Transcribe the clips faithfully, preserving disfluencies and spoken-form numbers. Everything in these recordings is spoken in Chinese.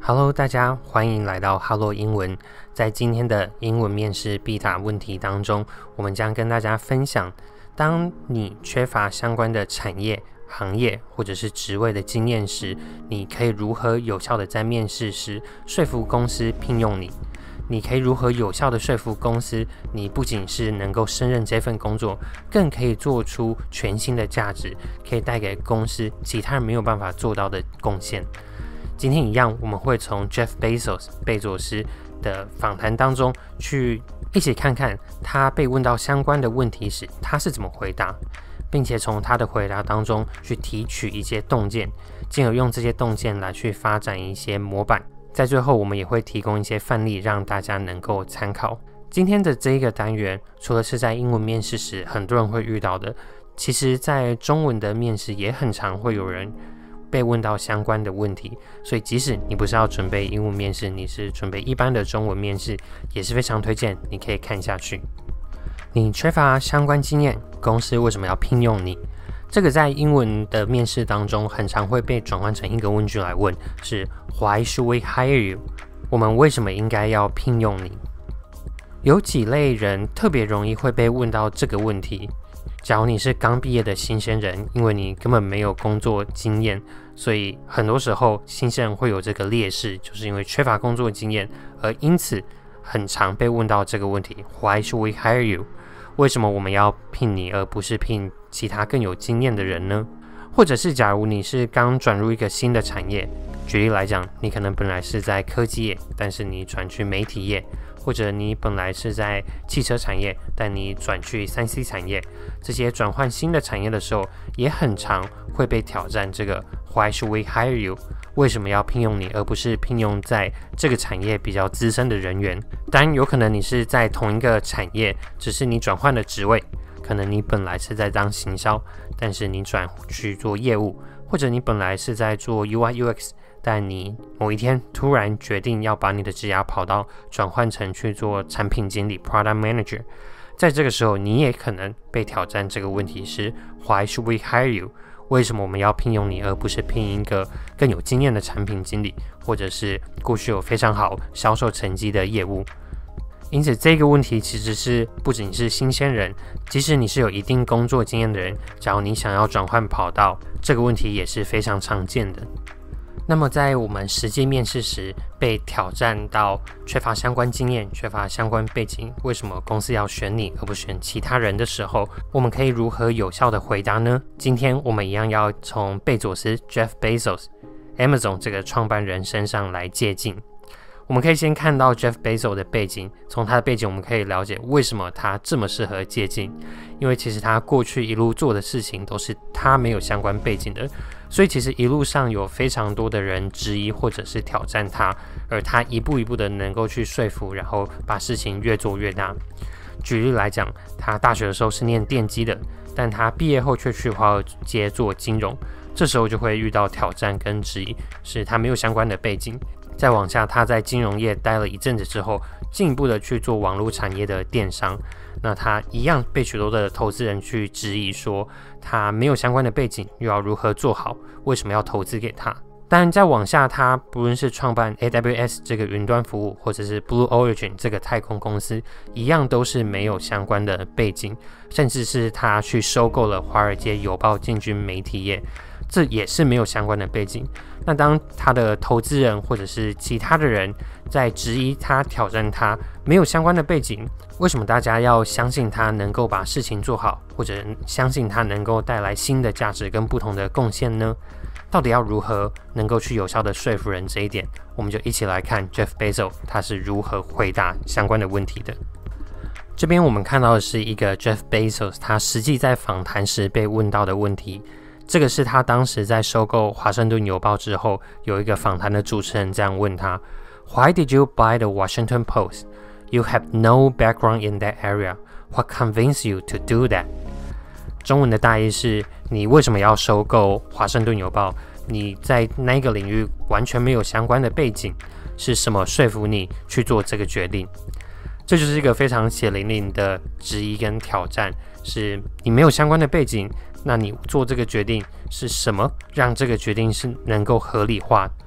Hello， 大家欢迎来到 Hello 英文。在今天的英文面试必答问题当中，我们将跟大家分享，当你缺乏相关的产业、行业或者是职位的经验时，你可以如何有效的在面试时说服公司聘用你。你可以如何有效的说服公司，你不仅是能够胜任这份工作，更可以做出全新的价值，可以带给公司其他人没有办法做到的贡献。今天一样，我们会从 Jeff Bezos 贝佐斯的访谈当中去一起看看他被问到相关的问题时他是怎么回答，并且从他的回答当中去提取一些洞见，进而用这些洞见来去发展一些模板。在最后我们也会提供一些范例让大家能够参考。今天的这一个单元除了是在英文面试时很多人会遇到的，其实在中文的面试也很常会有人被问到相关的问题，所以即使你不是要准备英文面试，你是准备一般的中文面试，也是非常推荐你可以看下去。你缺乏相关经验，公司为什么要聘用你？这个在英文的面试当中很常会被转换成一个问句来问，是 Why should we hire you？ 我们为什么应该要聘用你？有几类人特别容易会被问到这个问题。假如你是刚毕业的新鲜人，因为你根本没有工作经验，所以很多时候新鲜人会有这个劣势，就是因为缺乏工作经验，而因此很常被问到这个问题 Why should we hire you？ 为什么我们要聘你而不是聘其他更有经验的人呢？或者是假如你是刚转入一个新的产业，举例来讲，你可能本来是在科技业，但是你转去媒体业，或者你本来是在汽车产业，但你转去 三 C 产业，这些转换新的产业的时候，也很常会被挑战这个 Why should we hire you？ 为什么要聘用你，而不是聘用在这个产业比较资深的人员？当然有可能你是在同一个产业，只是你转换了职位，可能你本来是在当行销，但是你转去做业务，或者你本来是在做 U I U X， 但你某一天突然决定要把你的职涯跑道转换成去做产品经理 Product Manager， 在这个时候你也可能被挑战这个问题是 Why should we hire you？ 为什么我们要聘用你而不是聘一个更有经验的产品经理，或者是过去有非常好销售成绩的业务？因此这个问题其实是不仅是新鲜人，即使你是有一定工作经验的人，假如你想要转换跑道，这个问题也是非常常见的。那么在我们实际面试时被挑战到缺乏相关经验、缺乏相关背景，为什么公司要选你而不选其他人的时候，我们可以如何有效的回答呢？今天我们一样要从贝佐斯 Jeff Bezos Amazon 这个创办人身上来借鉴。我们可以先看到 Jeff Bezos 的背景，从他的背景我们可以了解为什么他这么适合借鉴，因为其实他过去一路做的事情都是他没有相关背景的，所以其实一路上有非常多的人质疑或者是挑战他，而他一步一步的能够去说服，然后把事情越做越大。举例来讲，他大学的时候是念电机的，但他毕业后却去华尔街做金融，这时候就会遇到挑战跟质疑，是他没有相关的背景。再往下，他在金融业待了一阵子之后，进一步的去做网络产业的电商，那他一样被许多的投资人去质疑说他没有相关的背景，又要如何做好，为什么要投资给他？当然再往下，他不论是创办 A W S 这个云端服务，或者是 Blue Origin 这个太空公司，一样都是没有相关的背景，甚至是他去收购了华尔街邮报进军媒体业，这也是没有相关的背景。那当他的投资人或者是其他的人在质疑他、挑战他没有相关的背景，为什么大家要相信他能够把事情做好，或者相信他能够带来新的价值跟不同的贡献呢？到底要如何能够去有效的说服人？这一点我们就一起来看 Jeff Bezos 他是如何回答相关的问题的。这边我们看到的是一个 Jeff Bezos 他实际在访谈时被问到的问题，这个是他当时在收购华盛顿邮报之后，有一个访谈的主持人这样问他 Why did you buy the Washington Post? You have no background in that area. What convinced you to do that? 中文的大意是，你为什么要收购华盛顿邮报？你在那个领域完全没有相关的背景，是什么说服你去做这个决定？这就是一个非常血淋淋的质疑跟挑战，是你没有相关的背景，那你做这个决定是什么让这个决定是能够合理化？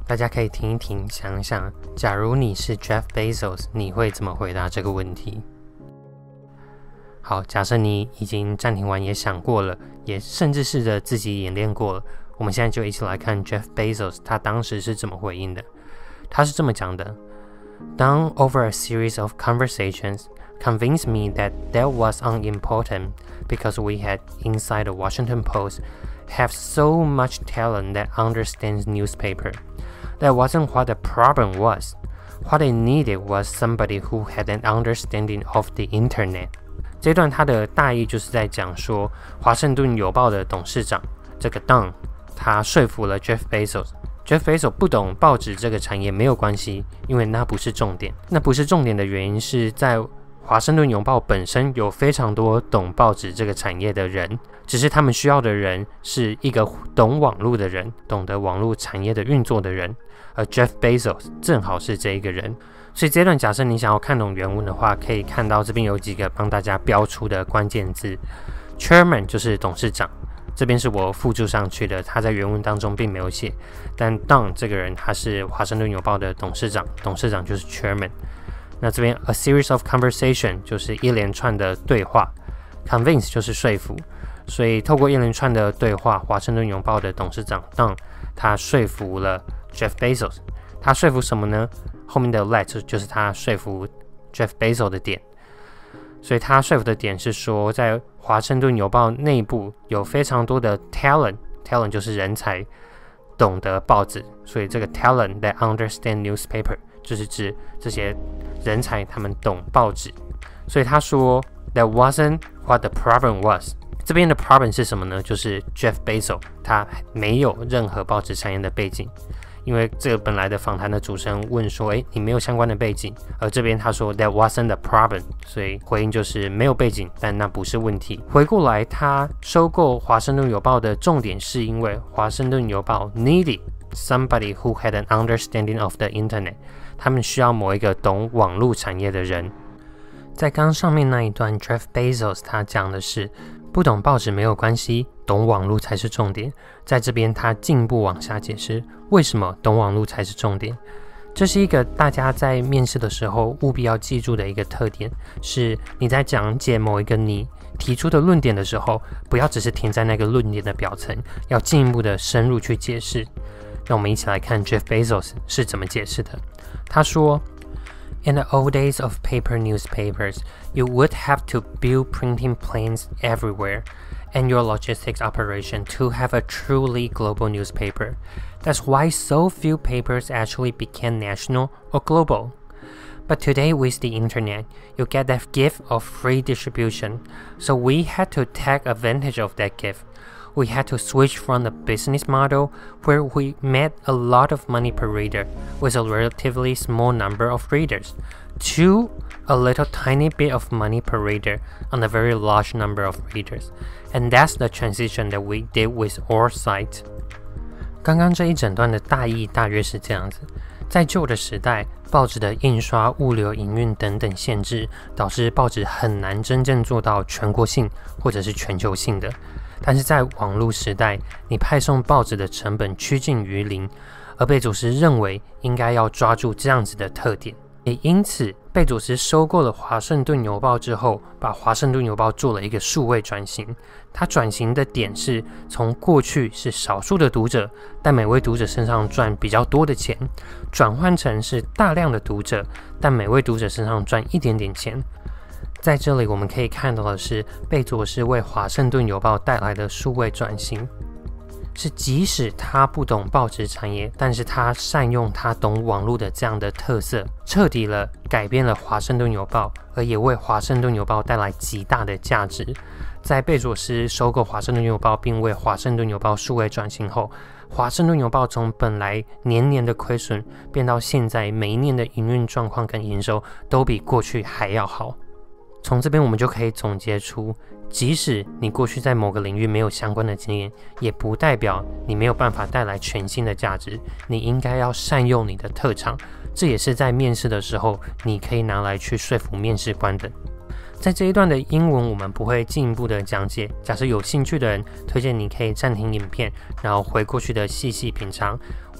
大家可以停一停，想想，假如你是 Jeff Bezos， 你会怎么回答这个问题？好，假设你已经暂停完，也想过了，也甚至试着自己演练过了，我们现在就一起来看 Jeff Bezos 他当时是怎么回应的。他是这么讲的 ：Done over a series of conversations convinced me that that was unimportant because we had inside the Washington Post have so much talent that understands newspaper. That wasn't what the problem was. What they needed was somebody who had an understanding of the internet. 这段他的大意就是在讲说，华盛顿邮报的董事长这个 Don， 他说服了 Jeff Bezos。Jeff Bezos 不懂报纸这个产业没有关系，因为那不是重点。那不是重点的原因是在华盛顿邮报本身有非常多懂报纸这个产业的人，只是他们需要的人是一个懂网络的人，懂得网络产业的运作的人。而 Jeff Bezos 正好是这一个人。所以这段假设你想要看懂原文的话，可以看到这边有几个帮大家标出的关键字。 Chairman 就是董事长，这边是我附注上去的，他在原文当中并没有写。但 Don 这个人他是华盛顿邮报的董事长，董事长就是 Chairman。那这边 a series of conversation 就是一连串的对话， convince 就是说服，所以透过一连串的对话，华盛顿邮报的董事长 Don 他说服了 Jeff Bezos。他说服什么呢？后面的 let 就是他说服 Jeff Bezos 的点。所以他说服的点是说，在华盛顿邮报内部有非常多的 talent， talent 就是人才，懂得报纸，所以这个 talent that understand newspaper 就是指这些人才他们懂报纸。所以他说 that wasn't what the problem was。这边的 problem 是什么呢？就是 Jeff Bezos 他没有任何报纸产业的背景。因为这个本来的访谈的主持人问说，诶，你没有相关的背景，而这边他说 that wasn't the problem， 所以回应就是没有背景，但那不是问题。回过来，他收购华盛顿邮报的重点是因为华盛顿邮报 needed somebody who had an understanding of the internet， 他们需要某一个懂网络产业的人。在刚上面那一段 Jeff Bezos 他讲的是不懂报纸没有关系，懂网络才是重点。在这边他进一步往下解释为什么懂网络才是重点。这是一个大家在面试的时候务必要记住的一个特点，是你在讲解某一个你提出的论点的时候，不要只是停在那个论点的表层，要进一步的深入去解释。让我们一起来看 Jeff Bezos 是怎么解释的。他说，In the old days of paper newspapers, you would have to build printing plants everywhere, and your logistics operation to have a truly global newspaper. That's why so few papers actually became national or global. But today with the internet, you get that gift of free distribution, so we had to take advantage of that gift.We had to switch from the business model where we made a lot of money per reader with a relatively small number of readers to a little tiny bit of money per reader on a very large number of readers. And that's the transition that we did with our site. 刚刚这一整段的大意大约是这样子。在旧的时代，报纸的印刷、物流、营运等等限制，导致报纸很难真正做到全国性或者是全球性的。但是在网络时代，你派送报纸的成本趋近于零，而贝佐斯认为应该要抓住这样子的特点，也因此贝佐斯收购了华盛顿邮报之后，把华盛顿邮报做了一个数位转型。他转型的点是从过去是少数的读者，但每位读者身上赚比较多的钱，转换成是大量的读者，但每位读者身上赚一点点钱。在这里我们可以看到的是，贝佐斯为华盛顿邮报带来的数位转型，是即使他不懂报纸产业，但是他善用他懂网络的这样的特色，彻底了改变了华盛顿邮报，而也为华盛顿邮报带来极大的价值。在贝佐斯收购华盛顿邮报并为华盛顿邮报数位转型后，华盛顿邮报从本来年年的亏损，变到现在每一年的营运状况跟营收都比过去还要好。从这边我们就可以总结出，即使你过去在某个领域没有相关的经验，也不代表你没有办法带来全新的价值。你应该要善用你的特长，这也是在面试的时候你可以拿来去说服面试官的。在这一段的英文我们不会进一步的讲解，假设有兴趣的人，推荐你可以暂停影片，然后回过去的细细品尝。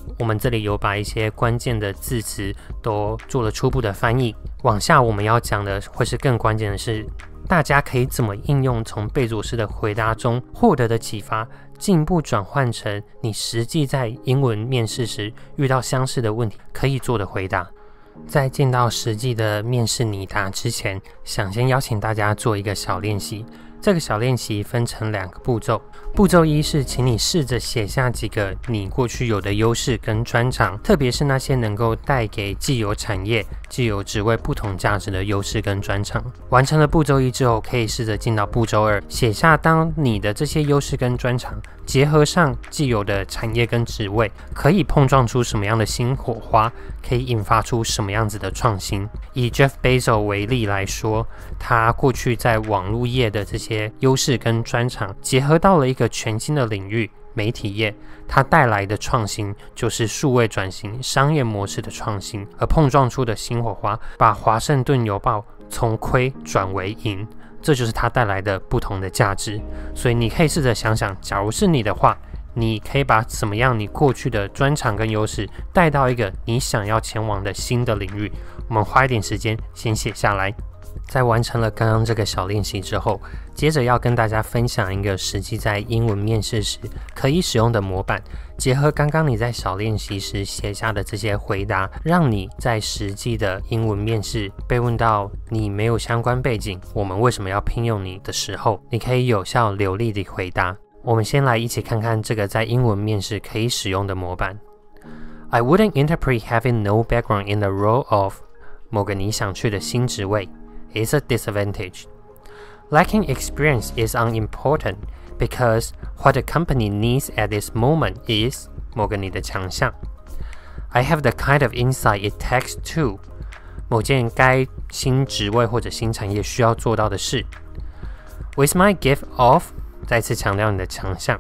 我们这里有把一些关键的字词都做了初步的翻译。往下我们要讲的会是更关键的是，大家可以怎么应用从贝佐斯的回答中获得的启发，进一步转换成你实际在英文面试时遇到相似的问题可以做的回答。在进到实际的面试拟答之前，想先邀请大家做一个小练习。这个小练习分成两个步骤。步骤一是请你试着写下几个你过去有的优势跟专长，特别是那些能够带给既有产业、既有职位不同价值的优势跟专长。完成了步骤一之后，可以试着进到步骤二，写下当你的这些优势跟专长结合上既有的产业跟职位，可以碰撞出什么样的新火花，可以引发出什么样子的创新。以 Jeff Bezos 为例来说，他过去在网络业的这些优势跟专长结合到了一个全新的领域，媒体业，它带来的创新就是数位转型、商业模式的创新，而碰撞出的新火花把华盛顿邮报从亏转为盈，这就是它带来的不同的价值。所以你可以试着想想，假如是你的话，你可以把怎么样你过去的专长跟优势带到一个你想要前往的新的领域。我们花一点时间先写下来。在完成了刚刚这个小练习之后，接着要跟大家分享一个实际在英文面试时可以使用的模板，结合刚刚你在小练习时写下的这些回答，让你在实际的英文面试被问到你没有相关背景，我们为什么要聘用你的时候，你可以有效流利地回答。我们先来一起看看这个在英文面试可以使用的模板。 I wouldn't interpret having no background in the role of 某个你想去的新职位is a disadvantage. Lacking experience is unimportant because what the company needs at this moment is 某个你的强项。 I have the kind of insight it takes to 某件该新职位或者新产业需要做到的事。 With my gift of 再次强调你的强项。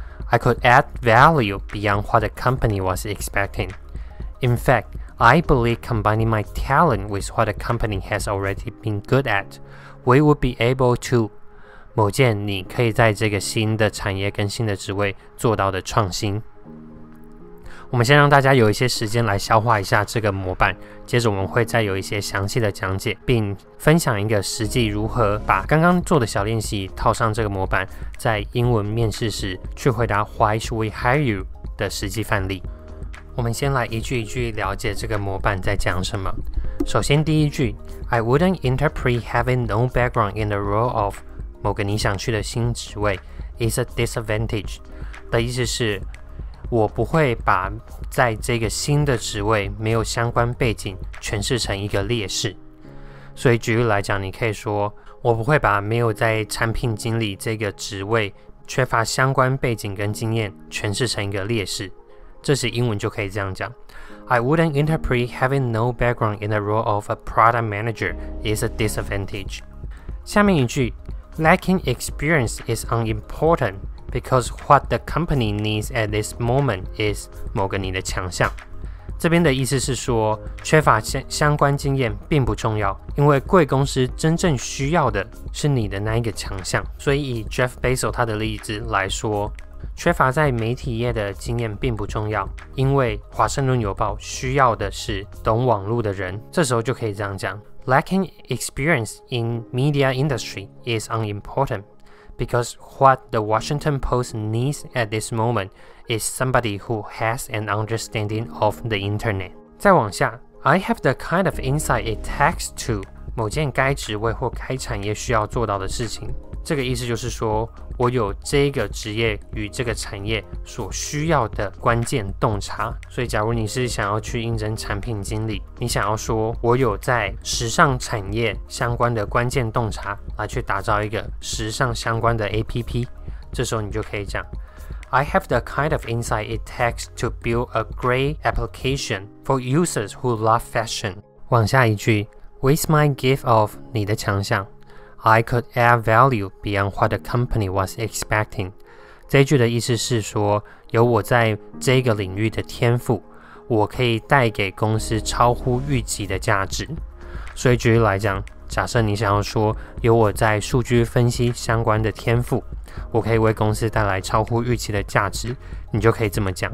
I could add value beyond what the company was expecting. In fact, I believe combining my talent with what the company has already been good at, we would be able to 某件你可以在这个新的产业跟新的职位做到的创新。我们先让大家有一些时间来消化一下这个模板，接着我们会再有一些详细的讲解，并分享一个实际如何把刚刚做的小练习套上这个模板，在英文面试时去回答 Why should we hire you 的实际范例。我们先来一句一句了解这个模板在讲什么。首先第一句 I wouldn't interpret having no background in the role of 某个你想去的新职位 is a disadvantage 的意思是，我不会把在这个新的职位没有相关背景诠释成一个劣势。所以举例来讲，你可以说我不会把没有在产品经理这个职位缺乏相关背景跟经验诠释成一个劣势。这时英文就可以这样讲 I wouldn't interpret having no background in the role of a product manager is a disadvantage. 下面一句 Lacking experience is unimportant because what the company needs at this moment is 某个你的强项。这边的意思是说，缺乏相关经验并不重要，因为贵公司真正需要的是你的那一个强项。所以以 Jeff Bezos 他的例子来说，缺乏在媒体业的经验并不重要，因为华盛顿邮报需要的是懂网络的人。这时候就可以这样讲 Lacking experience in media industry is unimportant because what the Washington Post needs at this moment is somebody who has an understanding of the internet. 再往下 I have the kind of insight it takes to 某件该职位或该产业需要做到的事情。这个意思就是说，我有这个职业与这个产业所需要的关键洞察。所以假如你是想要去应征产品经理，你想要说我有在时尚产业相关的关键洞察，来去打造一个时尚相关的 A P P， 这时候你就可以讲 I have the kind of insight it takes to build a great application for users who love fashion. 往下一句 With my gift of 你的强项I could add value beyond what the company was expecting. 这一句的意思是说，有我在这个领域的天赋，我可以带给公司超乎预期的价值。所以举例来讲，假设你想要说，有我在数据分析相关的天赋，我可以为公司带来超乎预期的价值，你就可以这么讲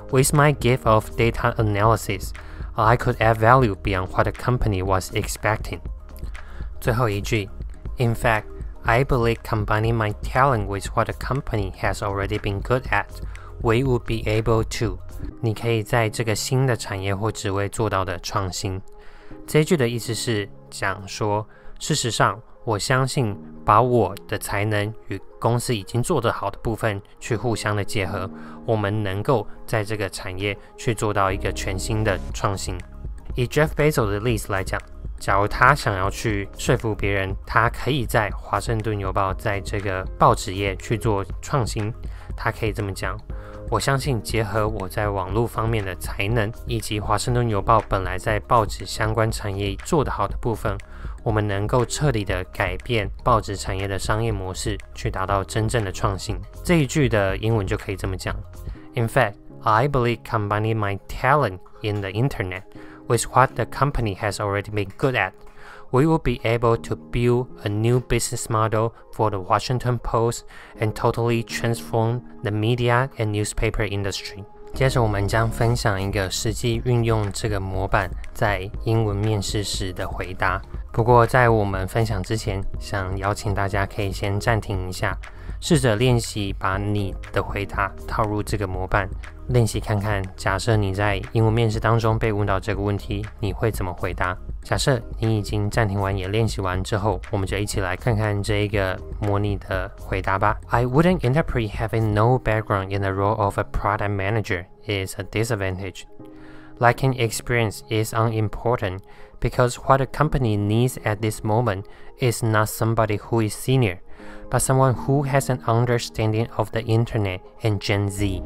With my gift of data analysis, I could add value beyond what the company was expecting. 最后一句 In fact, I believe combining my talent with what the company has already been good at, we would be able to. 你可以在这个新的产业或职位做到的创新。这一句的意思是讲说，事实上，我相信把我的才能与公司已经做得好的部分去互相的结合，我们能够在这个产业去做到一个全新的创新。以 Jeff Bezos 的例子来讲，假如他想要去说服别人，他可以在华盛顿邮报在这个报纸业去做创新，他可以这么讲，我相信结合我在网络方面的才能，以及华盛顿邮报本来在报纸相关产业做得好的部分，我们能够彻底的改变报纸产业的商业模式，去达到真正的创新。这一句的英文就可以这么讲 In fact, I believe combining my talent in the internet with what the company has already been good at, we will be able to build a new business model for the Washington Post and totally transform the media and newspaper industry. 接着我们将分享一个实际运用这个模板在英文面试时的回答。不过在我们分享之前，想邀请大家可以先暂停一下，试着练习把你的回答套入这个模板，练习看看，假设你在英文面试当中被问到这个问题，你会怎么回答？假设你已经暂停完也练习完之后，我们就一起来看看这一个模拟的回答吧。I wouldn't interpret having no background in the role of a product manager is a disadvantage. Lacking experience is unimportant because what a company needs at this moment is not somebody who is senior, but someone who has an understanding of the internet and Gen Z.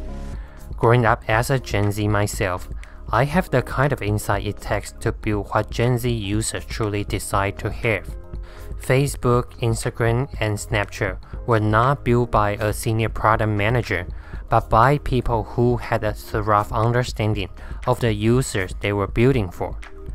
Growing up as a Gen Z myself, I have the kind of insight it takes to build what Gen Z users truly decide to have. Facebook, Instagram, and Snapchat were not built by a senior product manager, but by people who had a thorough understanding of the users they were building for.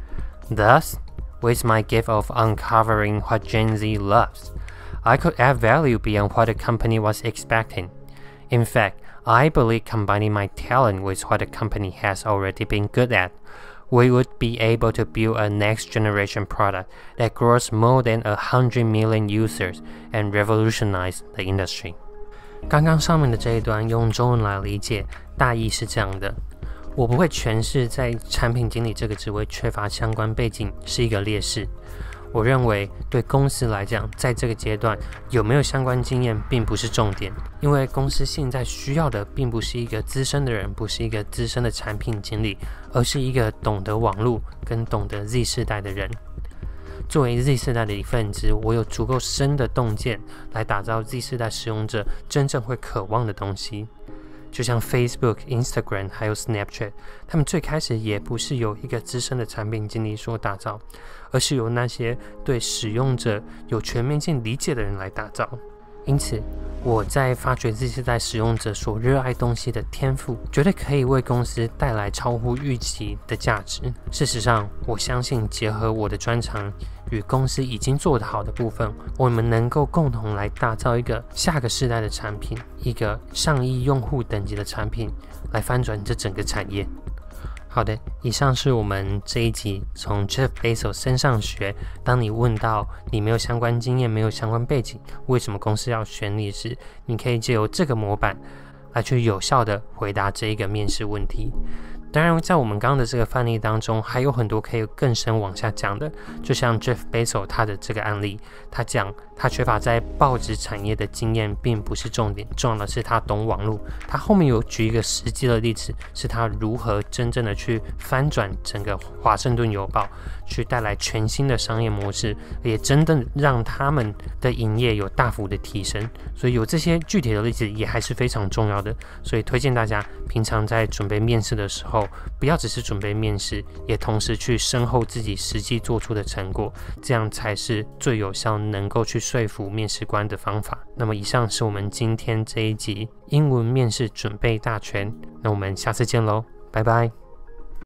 Thus, with my gift of uncovering what Gen Z loves, I could add value beyond what the company was expecting. In fact, I believe combining my talent with what the company has already been good at, we would be able to build a next-generation product that grows more than a hundred million users and revolutionize the industry. 刚刚上面的这一段用中文来理解，大意是这样的。我不会诠释在产品经理这个职位缺乏相关背景是一个劣势。我认为对公司来讲，在这个阶段有没有相关经验并不是重点，因为公司现在需要的并不是一个资深的人，不是一个资深的产品经理，而是一个懂得网络跟懂得 Z 世代的人。作为 Z 世代的一份子，我有足够深的洞见来打造 Z 世代使用者真正会渴望的东西。就像 Facebook、Instagram 还有 Snapchat， 他们最开始也不是由一个资深的产品经理所打造，而是由那些对使用者有全面性理解的人来打造。因此，我在发掘Z世代使用者所热爱东西的天赋，绝对可以为公司带来超乎预期的价值。事实上，我相信结合我的专长与公司已经做得好的部分，我们能够共同来打造一个下个世代的产品，一个上亿用户等级的产品，来翻转这整个产业。好的，以上是我们这一集从 Jeff Bezos 身上学，当你问到你没有相关经验、没有相关背景，为什么公司要选你时，你可以借由这个模板来去有效的回答这一个面试问题。当然，在我们刚刚的这个范例当中，还有很多可以更深往下讲的，就像 Jeff Bezos 他的这个案例，他讲他缺乏在报纸产业的经验并不是重点，重要的是他懂网络。他后面有举一个实际的例子，是他如何真正的去翻转整个华盛顿邮报，去带来全新的商业模式，也真的让他们的营业有大幅的提升。所以有这些具体的例子也还是非常重要的，所以推荐大家平常在准备面试的时候，不要只是准备面试，也同时去深厚自己实际做出的成果，这样才是最有效能够去说服面试官的方法。那么以上是我们今天这一集英文面试准备大全，那我们下次见咯，拜拜。